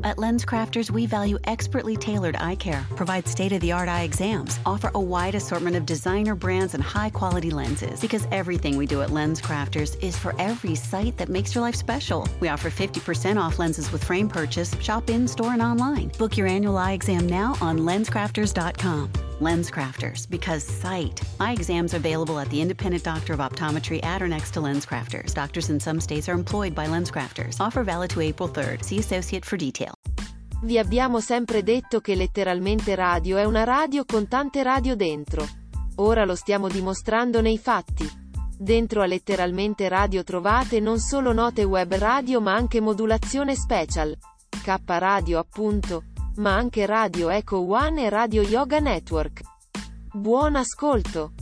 At LensCrafters, we value expertly tailored eye care, provide state-of-the-art eye exams, offer a wide assortment of designer brands and high-quality lenses. Because everything we do at LensCrafters is for every sight that makes your life special. We offer 50% off lenses with frame purchase. Shop in-store and online. Book your annual eye exam now on LensCrafters.com. LensCrafters, because sight. Eye exams are available at the independent doctor of optometry at or next to LensCrafters. Doctors in some states are employed by LensCrafters. Offer valid to April 3rd. See associate for detail. Vi abbiamo sempre detto che Letteralmente Radio è una radio con tante radio dentro. Ora lo stiamo dimostrando nei fatti. Dentro a Letteralmente Radio trovate non solo note web radio ma anche modulazione special. K Radio appunto. Ma anche Radio Echo One e Radio Yoga Network. Buon ascolto!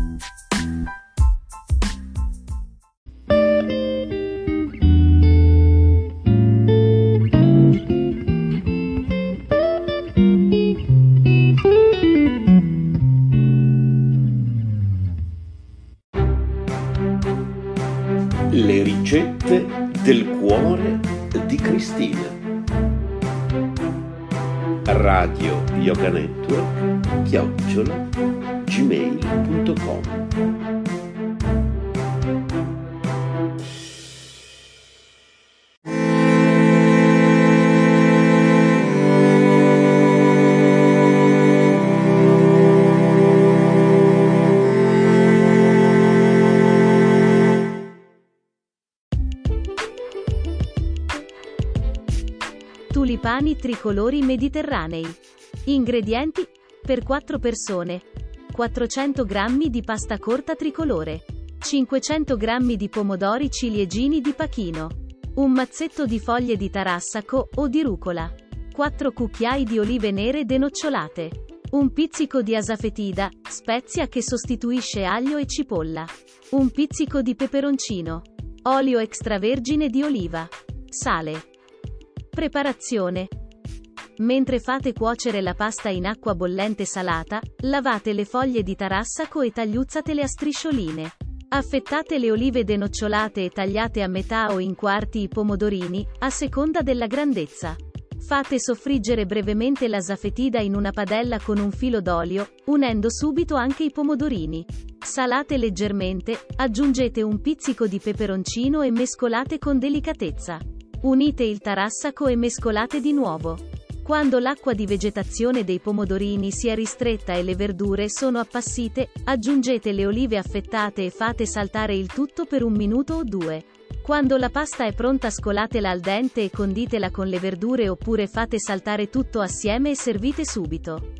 Le ricette del cuore di Cristina. Radio Yoga Network @gmail.com. Tulipani tricolori mediterranei. Ingredienti: per 4 persone: 400 g di pasta corta tricolore, 500 g di pomodori ciliegini di Pachino, un mazzetto di foglie di tarassaco o di rucola, 4 cucchiai di olive nere denocciolate, un pizzico di asafetida, spezia che sostituisce aglio e cipolla, un pizzico di peperoncino, olio extravergine di oliva, sale. Preparazione. Mentre fate cuocere la pasta in acqua bollente salata, lavate le foglie di tarassaco e tagliuzzatele a striscioline. Affettate le olive denocciolate e tagliate a metà o in quarti i pomodorini, a seconda della grandezza. Fate soffriggere brevemente l'asafetida in una padella con un filo d'olio, unendo subito anche i pomodorini. Salate leggermente, aggiungete un pizzico di peperoncino e mescolate con delicatezza. Unite il tarassaco e mescolate di nuovo. Quando l'acqua di vegetazione dei pomodorini sia ristretta e le verdure sono appassite, aggiungete le olive affettate e fate saltare il tutto per 1 minuto o 2. Quando la pasta è pronta scolatela al dente e conditela con le verdure oppure fate saltare tutto assieme e servite subito.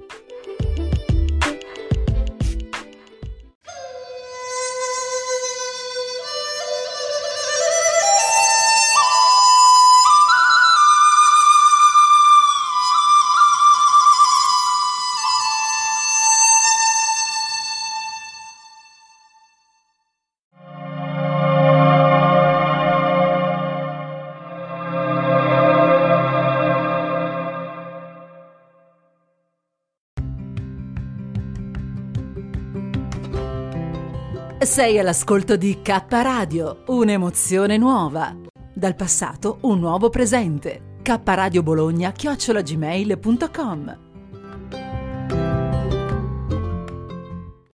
Sei all'ascolto di K Radio, un'emozione nuova. Dal passato un nuovo presente. K Radio Bologna @gmail.com.